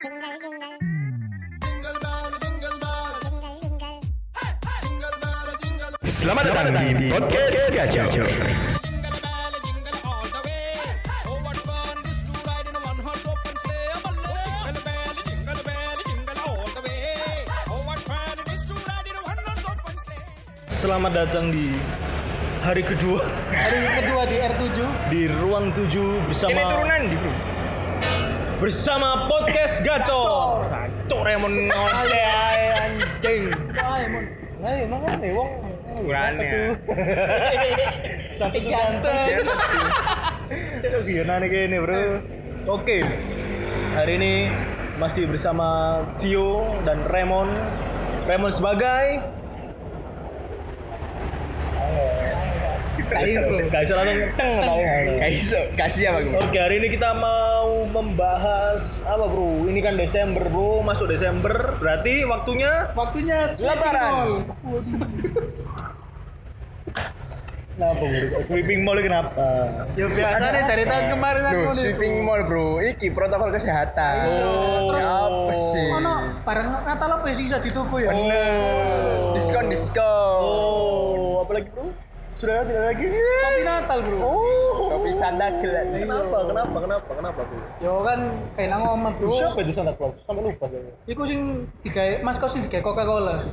Jingle jingle. Jingle bell, jingle bell, Jingle jingle. jingle bell, jingle. Selamat datang di podcast Gacor. Jingle bell, jingle all the way. Oh, what fun it is to ride in a one-horse open sleigh. Jingle bell, jingle bell, jingle all the way. Oh, what fun it is to ride in a one-horse open sleigh. Selamat datang di hari kedua di R7. di ruang 7 bersama Ini turunan di bro. bersama podcast Gacor. Gacor emang ngoceh ae, anjing. Emang kan wong Ukurannya. Sampai ganteng. Cok gimana kene, Bro? Oke. Hari ini masih bersama Tio dan Raymond. Raymond sebagai Gak bisa langsung teng Kasih apa gue? Oke, hari ini kita mau membahas apa, Bro? Ini kan Desember, Bro. Masuk Desember. Berarti waktunya Lebaran. kenapa, Bro? Sweeping mall kenapa? Ya biasanya dari tahun kemarin aku Loh, sweeping mall bro, iki protokol kesehatan. Oh, terus apa sih? ono barang Natal apa sih bisa di toko ya? Diskon. Oh, apalagi, Bro? Sudah tidak lagi. Kopi Natal bro. Kopi Santa Claus. Kenapa, Bro? Yo kan kayak nang omah bro. Siapa itu Santa Claus? Sampai lupa saya. Iku sing digawe Mas Kos sing digawe Coca-Cola.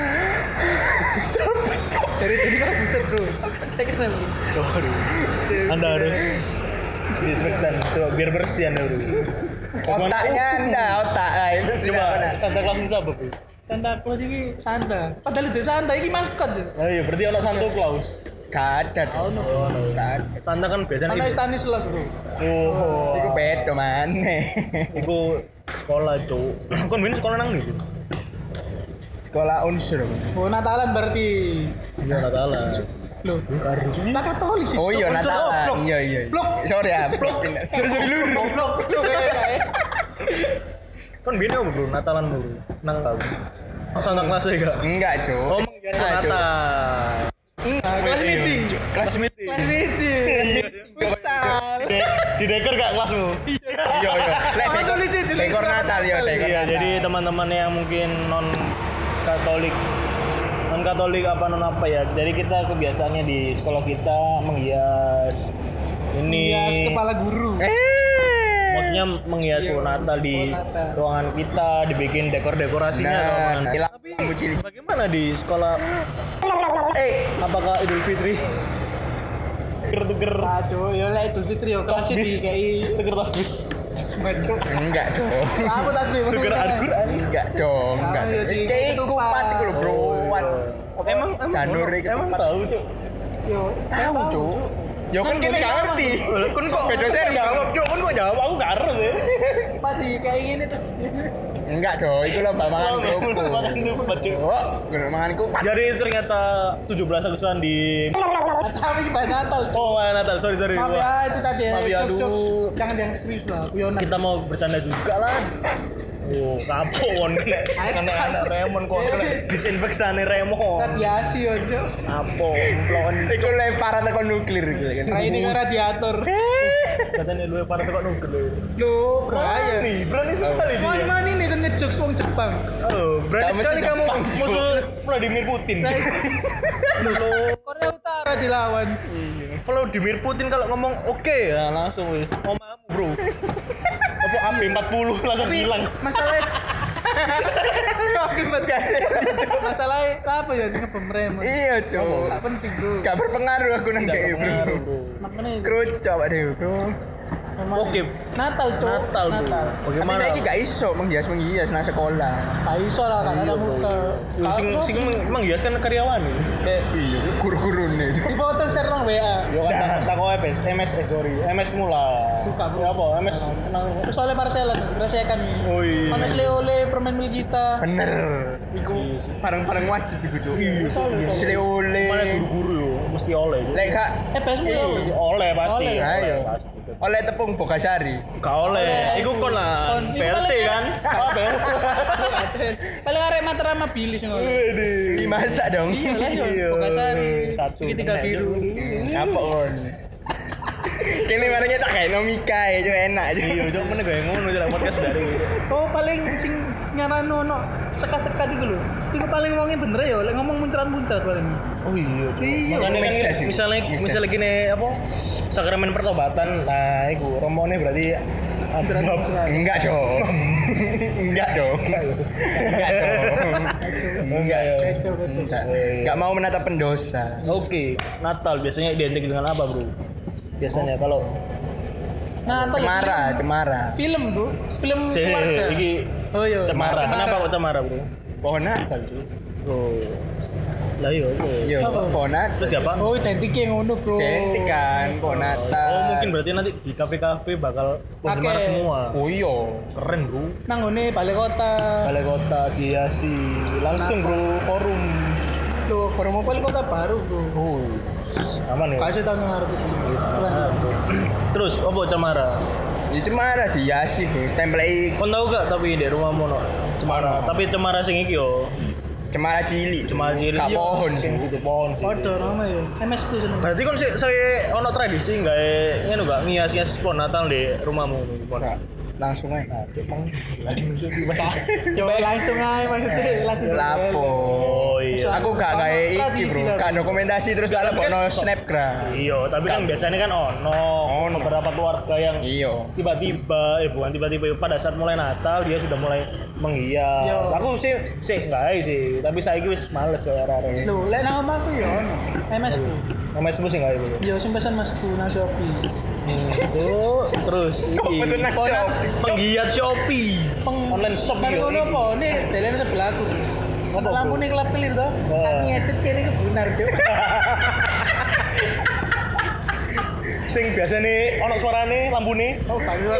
Jadi kan bisa bro. Kita bro. Anda harus disinfektan coba biar bersih Anda, Bro. Otaknya anda, otak. Ah, itu sih. Coba Santa Claus itu apa, Bro? Santa Claus ini Santa. Padahal itu Santa ini maskot. Oh iya, berarti ono Santa Claus. Kadat. Santa kan biasanya Ana Stanislas bro. Oh, Iku bedo maneh. iku sekolah, Cuk. Kon bin sekolah nang ndi? Sekolah unsur. Oh Natalan berarti. Iya, Natalan. Loh, tak Katolik sih. Oh iya Natalan. Iya. Blok. Sorry ya, blok. Sorry lur. Blok. Kon bin apa, Bro? Natalan, Bro. Nang tahu. Santa Claus ya gak? Enggak, Cuk. Oh, menghias Ah, Cuk. Natal. Kelas meeting. Kelas meeting. Kelas meeting. Besar. Di deker gak kelasmu? Iya. Lek Oh, tulis itu, tulis dekor Natal ya, dekor. Iya, Natal. jadi teman-teman yang mungkin non Katolik apa non apa ya. Jadi kita kebiasaannya di sekolah kita menghias ini. Hias kepala guru. Maksudnya menghias Iya, pohon Natal di pohon Natal. ruangan kita, dibikin dekor-dekorasinya. Nah, Roman. hilang lampu cilik. Bagaimana di sekolah? Apakah Idul Fitri? Tuker-tuker Aduh, ya lek Idul Fitri yo kasih di kayak tuker tasbih. Enggak dong. apa tasbih? Tuker Al-Qur'an. Enggak dong, enggak. Ah, iya, di- Kayak ketupat. kupat iku lho, Bro. Emang Januari emang ketupat. tahu, Cuk. Yo, Tahu, Cuk. Ya kan Kan kene kene gak sama. ngerti. Kon kok Beda seri jawab, Cuk. Kon kok jawab aku gak harus ya. Pasti kayak gini terus. Enggak dong, itu lomba makan kerupuk. Makan tupat, Cuk. Oh, guna makan kupat. Jadi ternyata 17 Agustusan di Tapi bahas Natal. Cuk. Oh, Natal. Sorry. Maaf ya, itu tadi ya. Maaf ya, jokes, aduh. jokes. Jangan yang serius lah. Guyonan. Kita mau bercanda juga lah. Oh, kapon kena anak Remon kok kena disinfektane Remon. Radiasi yo, Cuk. Apa plon Iku lemparan tekan nuklir gitu kan. Nah, ini kan radiator. katanya lu parah kok nuklir. Loh, bahaya. Berani sekali dia. Mana ini kan ngejokes wong Jepang. Oh, berani Gak mesti sekali kamu Jepang, musuh Vladimir Putin. Korea Utara dilawan. Vladimir Putin kalau ngomong oke ya langsung wis. Omamu, Bro. Apa AB40 langsung hilang. Masalahnya masalahnya apa ya dengan pemerintah? Iya, Cuk. Tak penting bro. Gak berpengaruh aku nang kayak, Bro. Makanya Kerucok deh, Bro. Oke, Natal tuh. Natal, Bro. Tapi Bagaimana? saya gak iso menghias nang sekolah. Tak iso lah kan ada muka. Sing menghias kan karyawan. Iya, guru-guru nih. Di foto share nang WA. Yo kan tak kok MS sorry. MS mula. Buka, Bro. Ya apa? MS nang Soalnya Marcella rasakan. Oh iya. Panas oleh permen milik kita. Bener. Iku barang-barang wajib iku, Cuk. Sile oleh. Mana guru-guru yo mesti oleh. Lek gak PSmu ya. Oleh pasti. Oleh. Ayo. Pasti. oleh tepung Bogasari. Gak oleh. Iku kon lah. Kon. Iku BLT paling- kan? Oh, BLT. Paling arek Mataram sama Billy sing oleh. Ih, masak dong. Iya lah yo. Iya. Bogasari. Satu. Segitiga biru. Kapok kon. Kene barangnya tak kayak nomika ya, cuma enak aja. Iya, cok meneh gawe ngono jalan podcast baru. Oh paling sing nyarano ono sekat-sekat iku lho. Iku paling wonge bener ya, lek ngomong muncrat-muncrat paling. Oh iya, cok. Iya. Makanya kan Make sense, misalnya gini apa? Sakramen pertobatan. Nah, iku romone berarti Enggak dong. Enggak dong. Enggak ya. Enggak mau menatap pendosa. Oke, Natal biasanya identik dengan apa, Bro? Biasanya kalau Nah, Cemara. film tuh, film Cek, keluarga. iki Oh iya. Cemara. Kenapa kok Cemara, Bro? Pohon Natal, Cuk. Oh. Lah iya, Iya, Apa? pohon Natal. Terus siapa? Oh, identiknya ngono, Bro. Identik kan, pohon Natal. Oh, mungkin berarti nanti di kafe-kafe bakal penggemar Pakai. semua. Oh iya. Keren, Bro. Nang ngene balai kota. Balai kota dihiasi langsung, Bro, forum. Loh, forum balai kota baru, Bro. Oh. Aman ya? Kasih tahun ngarep iki. Terus apa Cemara? Ya Cemara dihiasi, Bro. Template Kon tahu gak tapi di rumahmu no Cemara. Tapi Cemara sing iki yo. Cemara cilik. Cemara cilik. Gak pohon sih. Itu pohon sih. Padha nama ya. MS ku seneng. Berarti kon saya ono tradisi gawe ngono gak ngias-ngias pohon Natal di rumahmu. Langsung aja. Yo langsung ae maksudnya langsung. Lapo. Oh iya. Aku gak kayak iki, Tradisi Bro. lah. Gak dokumentasi terus gak lebokno snapgram. Iya, tapi kan biasanya kan ono beberapa keluarga yang Iya. tiba-tiba bukan tiba-tiba pada saat mulai Natal dia sudah mulai menghias. Iya. Aku sih enggak sih, tapi saiki wis males ya arek-arek. Lho, lek nang omahku yo ono. MS ku. Nama sebut sih enggak itu. Yo sing pesan Masku nang Shopee. Itu terus iki pesen nang Shopee? penggiat Shopee. Online shop Bar yo. ngono apa? Ini dalan sebelahku. Apa, Lampu Bro? ning klub kelir to. Oh. Aku ngedit kene kebunar, Cuk. Sing biasane ono suarane lampune. Oh, bagi suara.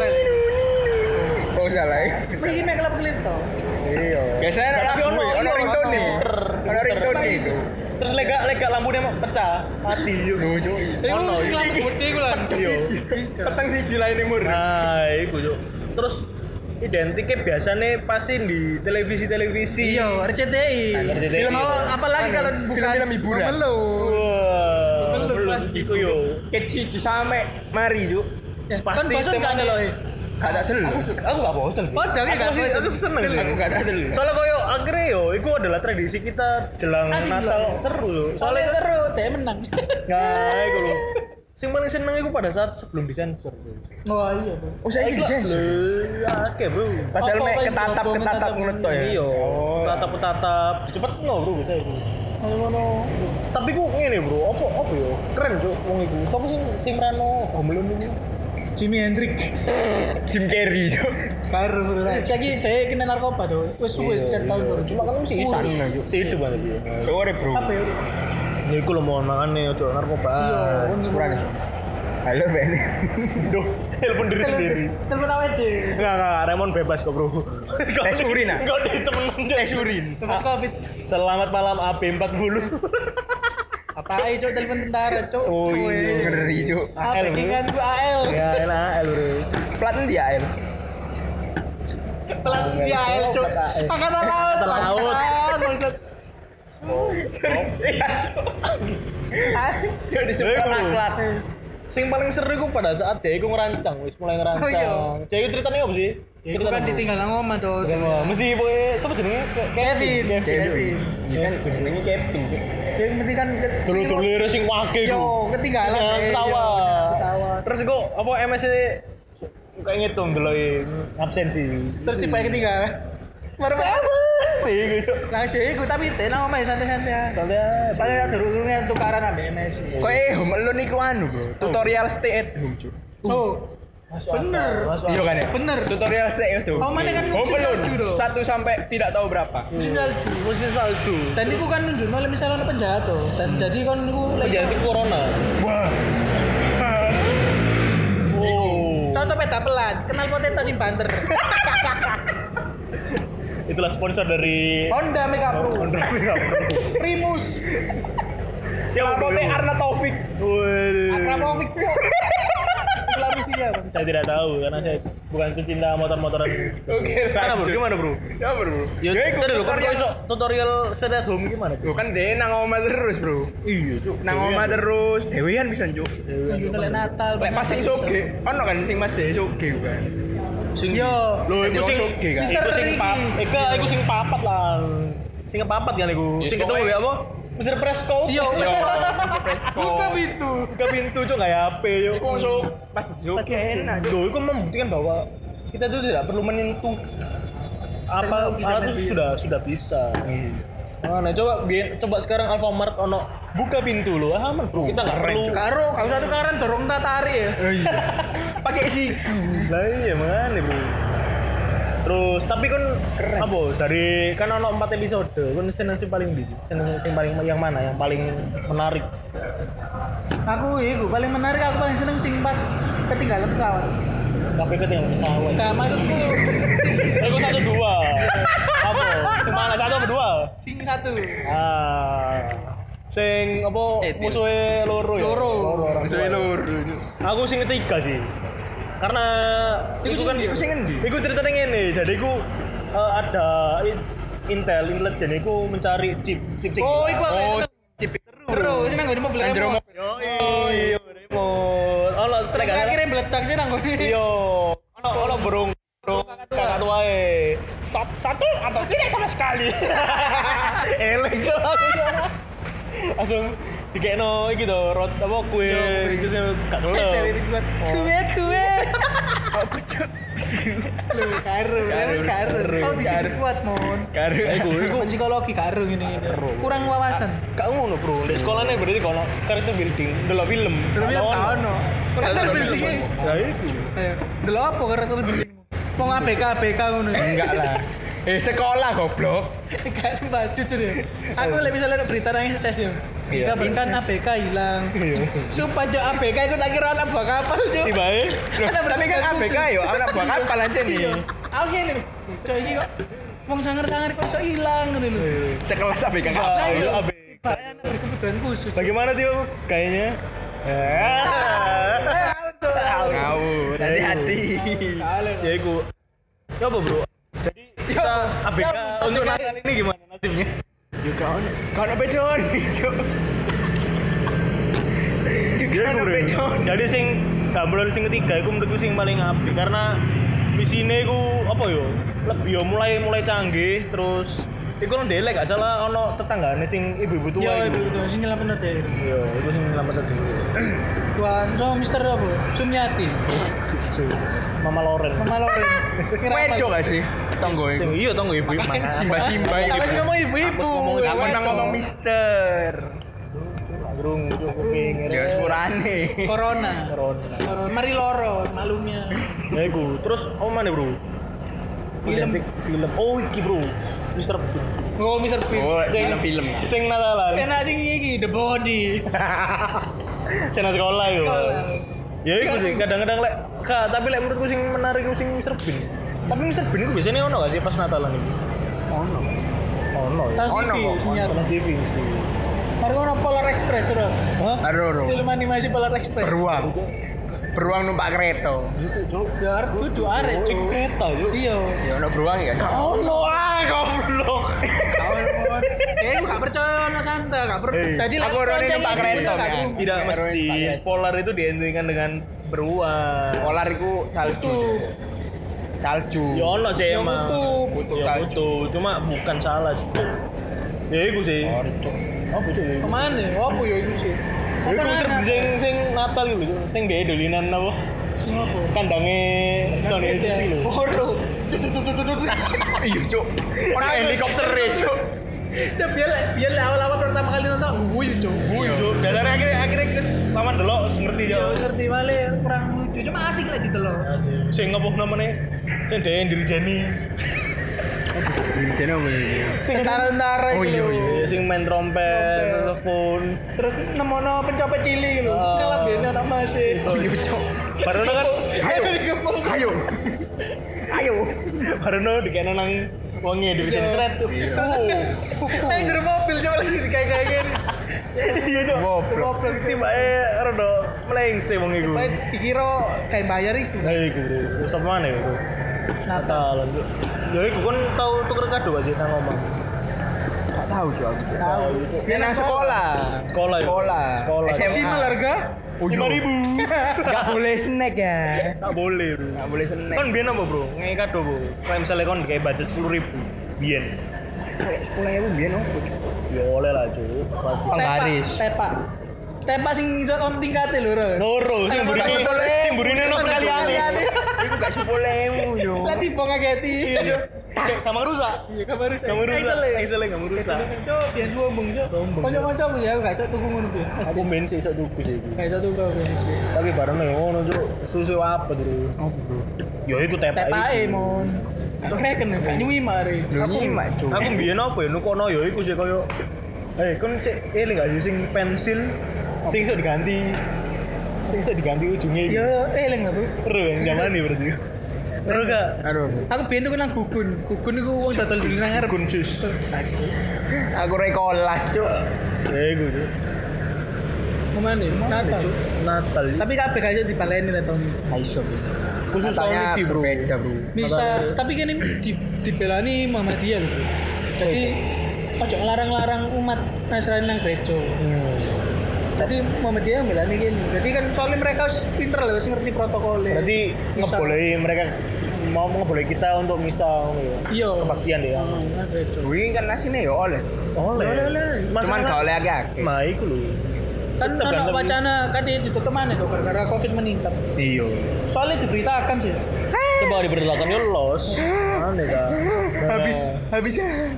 Oh salah ya. Iki mek klub kelir to. Iya. Biasanya ada Tapi lagu, ono ringtone nih. Ono ringtone itu. Terus lega lampune pecah, mati yo. Lucu. Iku sing lampu gede iku lho. Iya. Petang siji lainnya mur. Nah, iku yo. Terus identiknya biasanya pasti di televisi-televisi. Iya, RCTI. RCTI. Film apalagi kalau bukan film-film hiburan. Belum. Wah, Belum, belum pasti. iku yo. Ket siji sampe mari, Cuk. Ya, Pasti kan bosan tema- gak ada loh. Gak tak dulu. Aku gak bosen sih. Padahal Aku gak sih, bosen. aku seneng sih. Aku gak tak dulu. Soalnya koyo akhirnya yo, itu adalah tradisi kita jelang Asik Natal loh. seru loh. Soalnya Soalnya terus dia menang. nah, itu loh. Sing paling seneng itu pada saat sebelum disensor. Wah iya tuh. Oh saya ini sensor. Oke bro. Padahal Apa, mek apa, ketatap ngono to ya. Iya. Tatap-tatap. Cepet no bro saya bro. Ayo ngono. Tapi ku ngene bro, apa yo? Keren cuk wong iku. Sopo sing merano Home Alone ini? Jimi Hendrix. Jim Carrey, Cuk. Baru lah. Lagi dia kena narkoba tuh. Wes suwe kan tahun baru. Cuma kan mesti isan si hidup kan dia. Sore, Bro. Apa ya? Ya iku lho mohon makane ojo narkoba. Iya, Sepurane. Halo, Ben. Duh, telepon diri sendiri. Telepon awet deh. Enggak, Raymond bebas kok, Bro. Tes urin, ah? Enggak ditemenin tes urin. Bebas covid. Selamat malam AB40. Apa aja cok telepon tentara cok. Oh iya. Ngeri, Cuk. Apa AL, bro. kan gua AL. Ya, enak, Bro. Plat dia, El. Pelan di AL cok. Angkatan laut. Angkatan laut. Maksud. Serius ya, Cuk. Cuk disebut Iya, Bro. akhlak. Sing paling seru iku pada saat dia iku ngerancang, wis mulai ngerancang. Oh, iya. Jadi itu ceritanya apa sih? Ya, itu kan ditinggal nang omah tuh. Mesti pokoknya siapa jenenge? Kevin. Kevin. Iya kan jenenge Kevin. Cuk. Ya mesti kan Dulu sing wake Yo, iku. ketinggalan. Nang eh, pesawat. yo, pesawat. Terus kok apa MS kayak ngitung deloki absensi. Terus tiba ketinggalan. Baru apa? Iya gitu. Langsung iku tapi tenang omah santai-santai. Soalnya Soalnya durung-durungnya tukaran ambek MS. Kok Home Alone iku anu, Bro. Tutorial stay at home, Cuk. Oh. Bener. Iya kan ya? Bener. Tutorial stay at home. Oh, mana kan Home musim Alone salju, Bro. 1 sampai tidak tahu berapa. Musim salju. musim salju. Dan itu kan nunjuk kalau misalnya ada penjahat tuh. Dan jadi kan itu Terjadi corona. Wah. Oh. contoh peta pelan. Kenal potato sing banter. Itulah sponsor dari Honda Mega Pro. Honda Mega Pro. Primus. Yang Pote Arna Taufik. Waduh. Akramovic. Islami sih. Iya, Saya tidak tahu karena saya bukan pecinta motor-motoran. Oke, Gimana bro? lanjut. Gimana bro? Ya bro. Ya itu dulu kan kok iso tutorial stay at home gimana? Yo kan dia nang omah terus bro. Iya cuk. Nang omah terus, dewean bisa cuk. Lek Natal. Lek pas sing soge, ono kan sing pas dhewe soge kan. Sing Yo. lho iku sing soge kan. iku sing iku sing papat lah. Sing kepapat kan iku. Sing ketemu ya apa? Mr. Presco. Yo, Yo, masih presko. buka pintu. Buka pintu cuk enggak HP yo. Iku masuk pas soge enak. Loh, itu membuktikan bahwa kita itu tidak perlu menyentuh apa alat itu sudah bisa. Nah, coba sekarang Alfamart ono buka pintu lo, aman bro. Kita nggak perlu. Karo, kau satu karan dorong tak tarik ya. Pakai siku. Lah iya mana bro. Terus tapi kan apa dari kan ono 4 episode, kan sing paling di, sing paling yang mana yang paling menarik? Aku paling menarik, aku paling seneng sing pas ketinggalan pesawat. Tapi ketinggalan pesawat. Nah, maksudku Aku 1 2. Apa? Sing mana 1 apa 2? sing satu. Sing apa musuhe loro ya? Loro. Musuhe loro. Aku sing ketiga sih. Karena Iku kan iku sing endi? iku ceritanya ngene. Jadi iku ada Intel intelijen iku mencari chip. Oh, iku aku Oh, seneng. chip Terus seneng ngene mobil Anjir, remote. Iya, remote. Ono Terus akhirnya meledak sih nang ngene. Iya. Ono burung kakak tuae. Satu atau tidak sama sekali. Eleng tuh. Langsung dikekno iki to, rot apa kue itu sing gak kelep. Cari biskuit. Kue. Aku cuk. Lu karo. Kau di sini kuat mon. Karo Iku psikologi karo ngene. Kurang wawasan. Gak ngono, Bro. Di sekolahnya berarti kono character building, delok film. Terus ya ono. Karakter building. Lah iku. Ayo, delok apa karakter building? Wong ABK ngono. enggak lah. Sekolah goblok. Gak sumpah jujur ya. Aku lek misalnya berita nang sukses yo. Iya. Kabarkan ABK hilang. Sumpah jo ABK iku tak kira anak buah kapal jo. Tibae. Tapi kan ABK yo anak buah kapal aja nih. Aku ngene lho. Coy iki kok wong sangar-sangar kok iso hilang ngene lho. Sekelas ABK Nah, kapal. itu AB. Pak anak berkebutuhan khusus. Bagaimana Tio? Kayaknya. Ngawur, hati-hati. Ya iku. Ya apa, Bro? Jadi kita ABK untuk Natal ini gimana nasibnya? Yo kan bedon, cuk. Iya, Bro. Jadi sing gambaran sing ketiga iku menurutku sing paling apik karena misine iku apa yo? Lebih yo mulai canggih terus iku nang delek gak salah ono tetanggane sing ibu-ibu tua Yo iku. ibu sing nyelamet deh. Iya, iku sing nyelamet tadi. Tuan so Mister apa? Sumiati. Mama Loren. Mama Loren. Wedo gak sih? Tonggo Sing iku. iya tonggo ibu-ibu. Simba-simba Tapi iku. ngomong ibu-ibu. Aku nang ngomong mister. Burung itu kuping. Ya sepurane. Corona. Corona. Mari loro malumnya. Ya iku. Terus apa mana, Bro? Film. Oh, iki, Bro. Mr. Bean. Oh Mister Bean. Oh, film. Sing Natalan. Enak sing iki The Body. Sing nang sekolah iku. Sekolah. Ya iku sih kadang-kadang lek tapi lek menurutku sing menarik iku sing Mr. Bean. Tapi Mr. Bean iku biasanya ono gak sih pas Natalan iku? Ono. Ono. Tas Ono TV kok, sinyal. Ono TV mesti. Mari ono Polar Express ora. Hah? Aroro. Film animasi Polar Express. Beruang numpak kereta. Itu, Cuk. Ya arep kudu arek. Iku kereta, Cuk. Iya. Ya ono beruang ya. Ono ae goblok. Kawan. Aku gak percaya ono Santa, gak percaya. Eh, Tadi aku orang ini numpak kereta, kan? Tidak mesti. Polar itu diidentikan dengan beruang. Polar iku salju. Salju. Ya ono sih Ya, emang. kutub Ya, salju. kutub. Cuma bukan salah. Ya iku sih. Oh, Cuk. Ya iku. Kemana? Apa ya itu sih? Ya iku Mr. Bean sing Natal iku, Cuk. Sing dhewe dolinan apa? Sing apa? Kandange Tony Sisi lho. Horo. Iya, Cuk. Ono helikopter e, Cuk. Cuk biar awal-awal pertama kali nonton guyu cuk. Wuih, Cuk. Dasarnya akhirnya kes paman delok ngerti Ya ya. ngerti wale kurang lucu cuma asik lah gitu loh. Sing apa namanya? Sing dhewe Dirjani. Di channel apa ini? Sing Tentara Oh, gitu. iya. sing main trompet, saxophone. Terus nemono pencopet cilik gitu. Oh. Ngelabene anak masih. Iya, Cuk. Barono kan Ayo. Ayo. barono dikene nang wonge di seret. Nang jero mobil coba lagi kayak gini. Iya, Cuk. Goblok. Tibake rada mlengse wong iku. Baik dikira kayak bayar iku. Nah iku, Bro. Wis apa maneh iku? Natalan, Cuk. Ya iku kan tau tuker kado gak sih nang omah? Gak tahu Cuk aku. Cuk. Tahu. Ya nang sekolah. Sekolah ya? Sekolah. SMA. harga Oh, iya. 5.000. Gak boleh snack ya. Tak boleh, Bro. Gak boleh snack. Kan biyen apa, Bro? Ngei kado, Bro. Kayak misalnya kon kayak budget 10.000 biyen. Kayak 10.000 biyen opo Cuk? Ya oleh lah, Cuk. Pasti. Penggaris. Tepak sing iso on tingkate lho. Loro, sing burine no kaliane. Iku gak 10.000 yo. Lah tiba ngageti. Iya. Kayak kamar rusak. Iya kabar rusak. Kamu rusak. Isele kamu rusak. Cok, biyen sombong, Cok. Sombong. Kanca-kancaku ya gak iso tuku ngono kuwi. Aku main sih iso tuku sih iku. Gak iso tuku aku. Tapi bareng ngono, Cuk. Susu apa, Bro? Opo, Bro? Ya iku tepak. Tepake mon. Gak reken gak nyuwi mari. Lho nyimak Cuk. Aku mbiyen apa ya nukono ya iku sih koyo kon sik eling gak sih sing pensil sing iso diganti. Sing iso diganti ujungnya iki. Ya eling lah, Bro. Seru yang zaman ini berarti. Seru gak? Aduh. Aku biyen tuku nang Gugun. Gugun iku wong dodol dulu nang ngarep. Gun jus. Aku rekolas Cuk. Ya iku, Cuk. Kemana? Natal. Natal. Tapi kabeh gak iso dibaleni lah tahun ini. Gak iso. Khusus tahun Katanya iki, Bro. berbeda, Bro. Bisa, tapi kan ini dibelani Muhammadiyah lho. Bro. Jadi ojo ngelarang-larang umat Nasrani nang gereja. Tadi Muhammadiyah belani gini. Jadi kan soalnya mereka harus pinter lah, harus ngerti protokolnya. Berarti Bisa. ngebolehi mereka mau ngebolehi kita untuk misa ngono ya. Iya. Kebaktian deh ya. Nang gereja. Wih kan asine ya oleh. Oleh. Cuman gak oleh akeh. Nah, iku lho. Kan Tetep ada tapi- wacana kan ditutup kemana tuh gara-gara Covid meningkat. Iya. Soalnya diberitakan sih. Coba diberitakan ya los. Aneh dah. Habis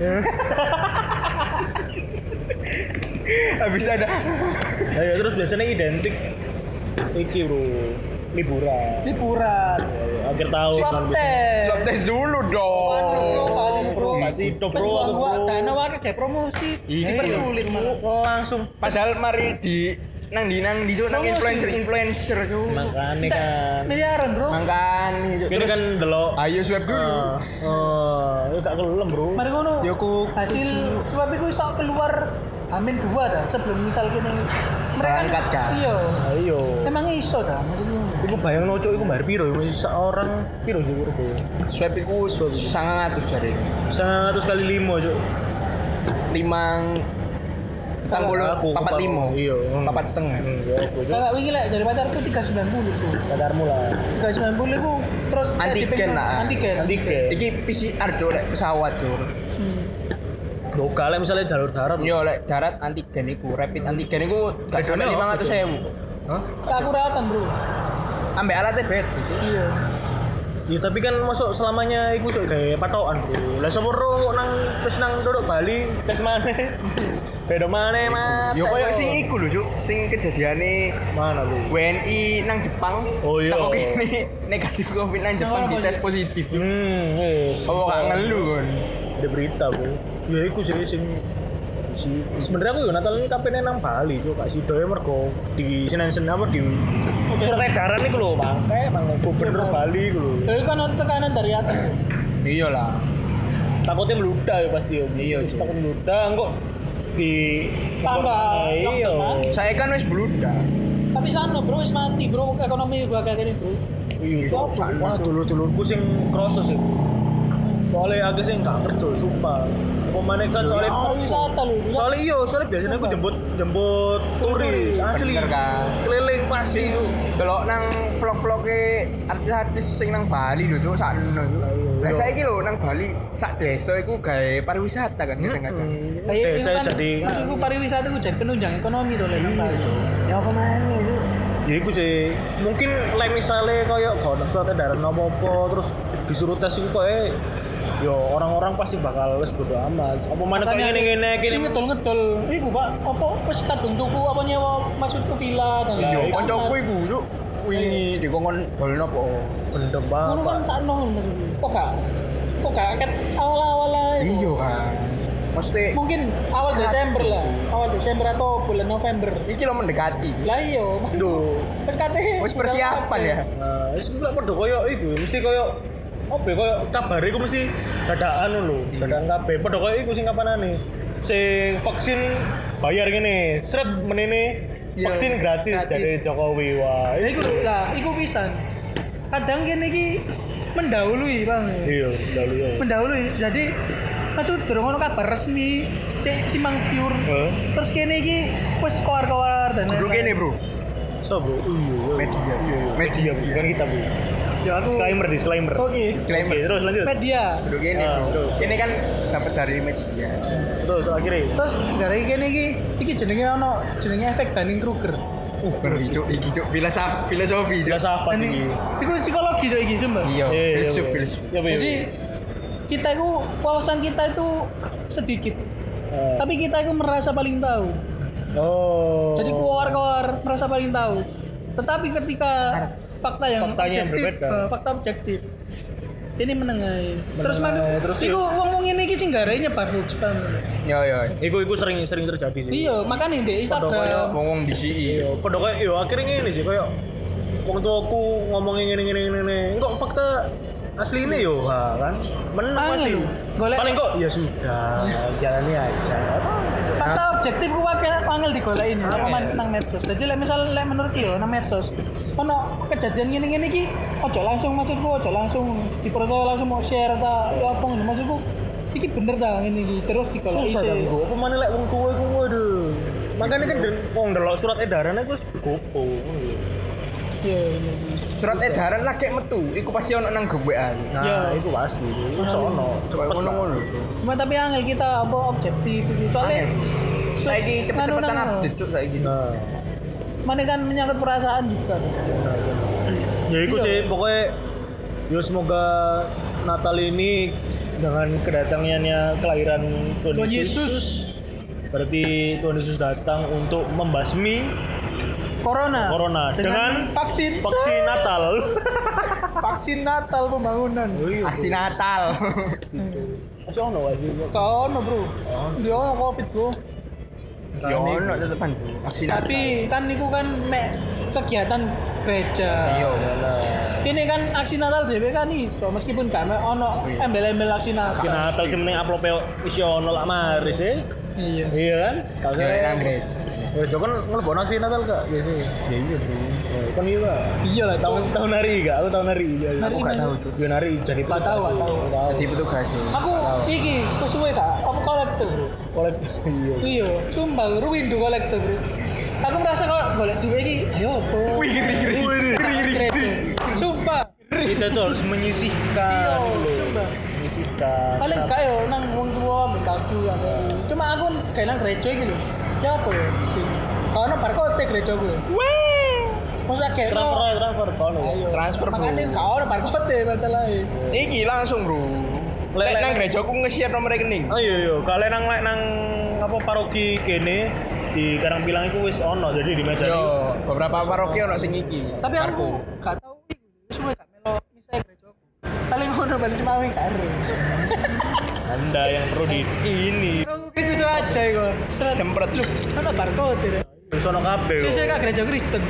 habis ada Nah, ya, terus biasanya identik iki, Bro. Liburan. Liburan. Akhir tahun Swab kan biasanya. test. swab tes dulu dong. Bro. Masih do, Bro. Bro, Aku, gua Bro. dana wae kayak promosi. Iya. Dipersulit malah. Langsung Padahal mari di nang di Cuk, nang influencer Cuk. makane kan. Miliaran, Bro. Mangkani Cuk. Ini Terus kan delok ayo swab dulu. ya gak kelem, Bro. Mari ngono. Ya, ku- hasil swab itu iso keluar Amin 2 dah sebelum misal kene. Berangkat, kan? Iya. Ayo. Emang iso dah maksudnya. Iku bayang noco iku bayar piro iku seorang piro sih Bro? Swab iku 100 jare. 100 kali 5, Cuk. 5 papat 5. Iya. Papat setengah. Ya aku, Cuk. Kakak wingi lek dari pacarku 390 tuh. Pacarmu lah. 390 iku terus Antigen lah. Antigen. Antigen. Iki PCR Cuk, lek pesawat Cuk. Lokal misalnya jalur darat. Yo lek darat antigen iku, rapid antigen iku gak sampe Bedanya 500.000. Hah? Keakuratan, Bro. Ambek alatnya beda Cuk. Iya. Ya tapi kan masuk selamanya iku sok gawe patokan, Bro. Lah sapa ro nang wis nang duduk Bali tes maneh. Beda maneh, Mas. Yo koyo sing iku lho Cuk, sing kejadiane Mana, Bro? WNI nang Jepang. Oh, iya. Tak kene negatif Covid nang Jepang Apa, dites Cuk? positif Cuk. Wis. Apa gak ngeluh kon? Ada berita, Bro. Ya iku sih sing sebenarnya aku yo Natal ini kapan nang Bali, Cuk. Kak Sidoe mergo di Senin apa di surat edaran iku lho, Bangke, Gubernur Bali iku lho. Jadi kan ada tekanan dari atas. Bro. Iya lah. Takutnya meludah ya pasti yo. Iya, Terus Cuk. takut meludah kok di Tambah Iya. lockdown. Saya kan wis bluda. Tapi sana, Bro, wis mati, Bro. Ekonomi gua kayak gini, Bro. Iya, Cuk. Sana, Wah, Cuk. dulur-dulurku sing kroso sih. Soalnya aku sing gak kerja, sumpah. Apa maneh kan soalnya Pariwisata lho. soalnya iya, soalnya biasanya aku jemput turis asli. Bener kan? Keliling pasti. Delok nang vlog-vloge artis-artis sing nang Bali lho Cuk, sakno Cuk. Lah saiki lho nang Bali sak desa iku gawe pariwisata kan kadang-kadang. Kayak Saya kan, jadi maksudku pariwisata itu jadi penunjang ekonomi tuh lek nang Bali. Ya apa maneh Cuk? ya iku sih mungkin like misalnya kayak kalau suatu edaran apa-apa terus disuruh tes itu kayak yo orang-orang pasti bakal wes bodo amat apa mana kayak gini Sing ngedol-ngedol. Iku, Pak, apa wis kadung tuku apa nyewa maksudku villa dan Iya, kamar. kancaku iku Cuk. Wingi dikongkon dolen apa? bendem Ngono kan banget sakno ngono. Kok gak ket awal-awal ae. Iya kan. Maksudnya Mungkin awal Sekarang Desember lah. itu. Awal Desember atau bulan November. iki lo mendekati. Lah iya. Duh. Wis kate. Wis persiapan ya. nah itu nggak pada koyo iku mesti koyo apa ya, koyo kabar iku mesti dadakan lho dadakan kabeh pada koyo iku sing kapanane sing vaksin bayar gini, seret menene Iya, vaksin gratis gratis. dari Jokowi. Wah, Nah, iku pisan. Kadang kene iki mendahului, Bang. iya, lalu ya. Mendahului. Jadi maksud durung ono kabar resmi simpang siur. Heeh. Terus kene iki wis keluar-keluar dan Bro kene, Bro. So, Bro. Iya, Media. media bukan kita, Bu. Ya aku Disclaimer. Oke. Disclaimer. Oke, terus lanjut. Media. Bro kene, Ah, Bro. terus. Kene kan dapat dari media. Terus akhirnya Terus gara kene iki jenenge ono jenenge efek Dunning-Kruger. Bro, iki cuk filosofi. Cuk. filsafat ini. Iku psikologi cok iki sumpah. Iya, Iya, filsuf. Ya, Jadi kita itu wawasan kita itu sedikit. Tapi kita itu merasa paling tahu. Oh. Jadi keluar merasa paling tahu. Tetapi ketika fakta yang Faktanya yang objektif, berbeda. fakta objektif. Ini menengahi. Terus Terus iku wong ini iki sing garai nyebar hoax Bang. Ya. Iku sering terjadi sih. Iya, makanya di Instagram. Ngomong di sini. Iya, padha kayak yo akhirnya ngene sih kayak wong tuaku ngomongin ngene. Kok fakta asli ini yo kan. Menang Angel masih. lho. Golek- Paling kok ya sudah, jalani aja. Fakta objektif ku angel digoleki nang medsos. Jadi misal menurut yo nang medsos ono kejadian ngene-ngene iki ojo langsung dipercaya langsung mau share ta ya apa ngono maksudku iki bener ta ngene iki terus digoleki Susah kan sih. gua. Apa maneh lek wong tuwa iku waduh. Makanya kan wong ndelok surat edaran iku wis gopo. Iya. Surat edaran lagi metu, iku pasti ono nang GWA. Nah, Iya. iku pasti. Iku sono. Coba ngono-ngono. Cuma tapi angel kita apa objektif iki. Soalnya Saiki cepet-cepetan anu, update cuk saiki. Nah, mana kan menyangkut perasaan juga. ya iku Iya. sih pokoknya ya semoga Natal ini dengan kedatangannya kelahiran Tuhan Tuhan Yesus. Yesus. Berarti Tuhan Yesus datang untuk membasmi Corona dengan vaksin Natal. vaksin Natal pembangunan. Aksi Natal. Masih ono wae. Kau ono bro, dia ono covid bro. Ya ono tetepan aksi Natal. Tapi kan niku kan mek kegiatan gereja. Iya. Ini kan aksi Natal dhewe kan iso meskipun gak ono embel-embel aksi Natal. Natal sing penting upload wis ono lak maris e. Iya. Iya kan? Kalau Ya nang gereja. ya Joko kan ngelebono sih Natal gak biasa. Ya iya bro. Kan iya Kak. Iya lah. Tahun hari gak? Aku tahun hari. Iya. Hari Aku gak mana? tahu cuk. Gue nari jadi Gak tahu, gak tahu. Jadi petugas sih. Aku iki kesuwe kak, aku kolektor bro. Oleh iya. Iya, sumpah ruwin do kolektor bro. Aku merasa kalau golek duit iki, ayo apa? Wih, Kredo. Sumpah. Kita tuh harus menyisihkan. Iya, dulu. sumpah. Menyisihkan. Paling Kenapa? gak yo nang wong tua mintaku ya. Cuma aku kayak nang gereja iki lho. Ya apa ya? Karena barcode gereja gue. Masa kayak transfer kono. Ayo. Transfer, bro. Makanya gak ono barcode masalahnya. Iki langsung bro. Lek nang gereja aku nge-share nomor rekening. Oh iya, kalian nang apa paroki kene di Karangpilang itu wis ono jadi di meja. Yo, beberapa paroki ono sing iki. Tapi aku gak tau iki. Suwe gak melo misalnya gereja aku. Paling ngono balik cuma wing karo. Anda yang perlu di ini. Kristus aja iku. Semprot lu. Ono barcode ya. Wis ono kabeh. Sesuk kak gereja Kristen.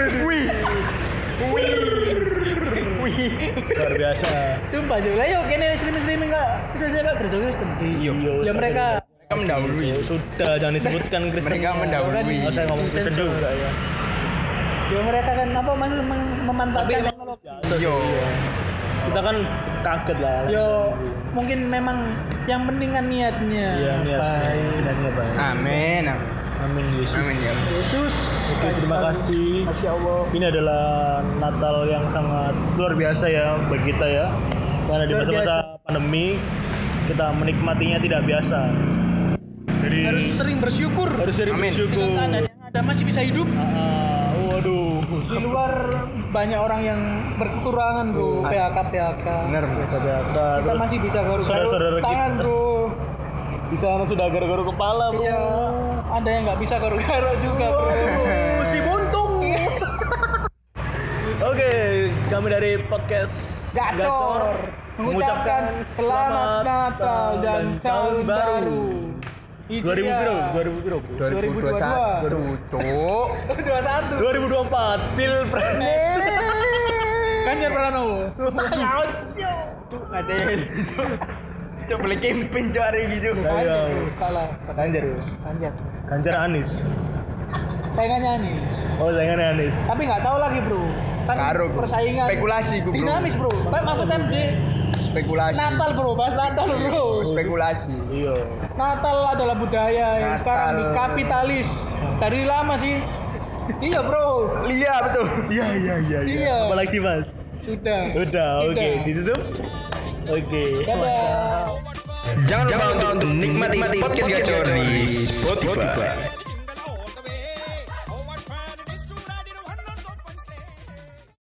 Luar biasa. Sumpah juga. Lah yo kene streaming kak. Sesuk kak gereja Kristen. Iya. Ya mereka Mereka mendahului. Sudah jangan disebutkan Kristen. Mereka mendahului. Oh, saya ngomong Kristen juga ya. ya mereka kan apa memanfaatkan teknologi. Yo. Kita kan kaget lah. Yo mungkin memang yang penting kan niatnya. Iya, niat. Baik. Niatnya baik. Amin. Amin Yesus. Amin ya. Yesus. Oke, terima kasih. Masya Allah. Ini adalah Natal yang sangat luar biasa ya bagi kita ya. Karena di Luar masa-masa pandemi kita menikmatinya tidak biasa. Jadi Harus sering bersyukur. harus sering Amin. bersyukur. Dengan keadaan yang ada masih bisa hidup. Waduh. Di luar banyak orang yang berkekurangan bro. PHK. Bener bro. Kata-kata Kita terus masih bisa saudara-saudara garuk-garuk tangan kita. bro. Di sana sudah garuk-garuk kepala, Bro. Iya. Ada yang nggak bisa garuk-garuk juga bro. Si buntung. Oke, kami dari podcast Gacor mengucapkan selamat Natal dan tahun baru. 2000 bro, 2000 bro. 2021. Cuk. 21. 2024 Pilpres. Ganjar Pranowo. Cuk, ada Cok beli camping cok hari gitu. Ganjar bro, kalah. Ganjar ya? Ganjar. Ganjar Anies. Saingannya Anies. Oh, saingannya Anies. Tapi nggak tahu lagi bro. Kan Karo, bro. persaingan. Spekulasi, bro. Dinamis bro. Kayak Mahfud MD. Spekulasi. Natal bro, bahas Natal bro. Spekulasi. Iya. Natal adalah budaya yang Natal. sekarang dikapitalis. Dari lama sih. Iya bro. Iya betul. Iya. Apalagi Mas? Sudah. Udah, oke. Ditutup? Oke. Dadah. Jangan lupa untuk nikmati podcast Gacor di Spotify.